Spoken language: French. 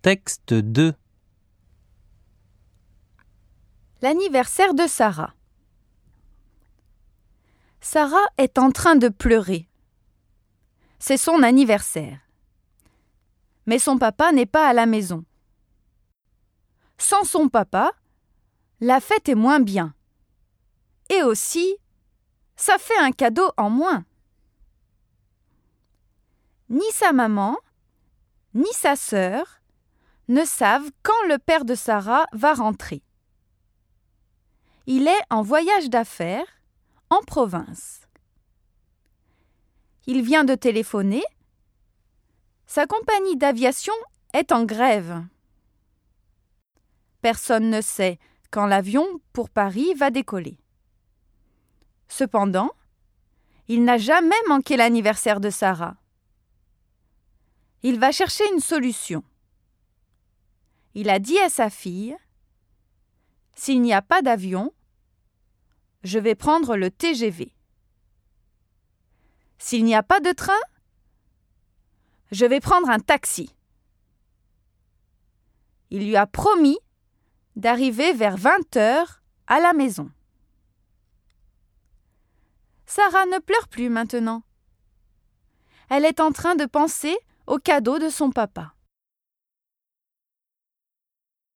Texte 2. L'anniversaire de Sarah. Sarah est en train de pleurer. C'est son anniversaire. Mais son papa n'est pas à la maison. Sans son papa, la fête est moins bien. Et aussi, ça fait un cadeau en moins. Ni sa maman, ni sa sœur ne savent quand le père de Sarah va rentrer. Il est en voyage d'affaires en province. Il vient de téléphoner. Sa compagnie d'aviation est en grève. Personne ne sait quand l'avion pour Paris va décoller. Cependant, il n'a jamais manqué l'anniversaire de Sarah. Il va chercher une solution. Il a dit à sa fille : « S'il n'y a pas d'avion, je vais prendre le TGV. S'il n'y a pas de train, je vais prendre un taxi. » Il lui a promis d'arriver vers 20h à la maison. Sarah ne pleure plus maintenant. Elle est en train de penser au cadeau de son papa.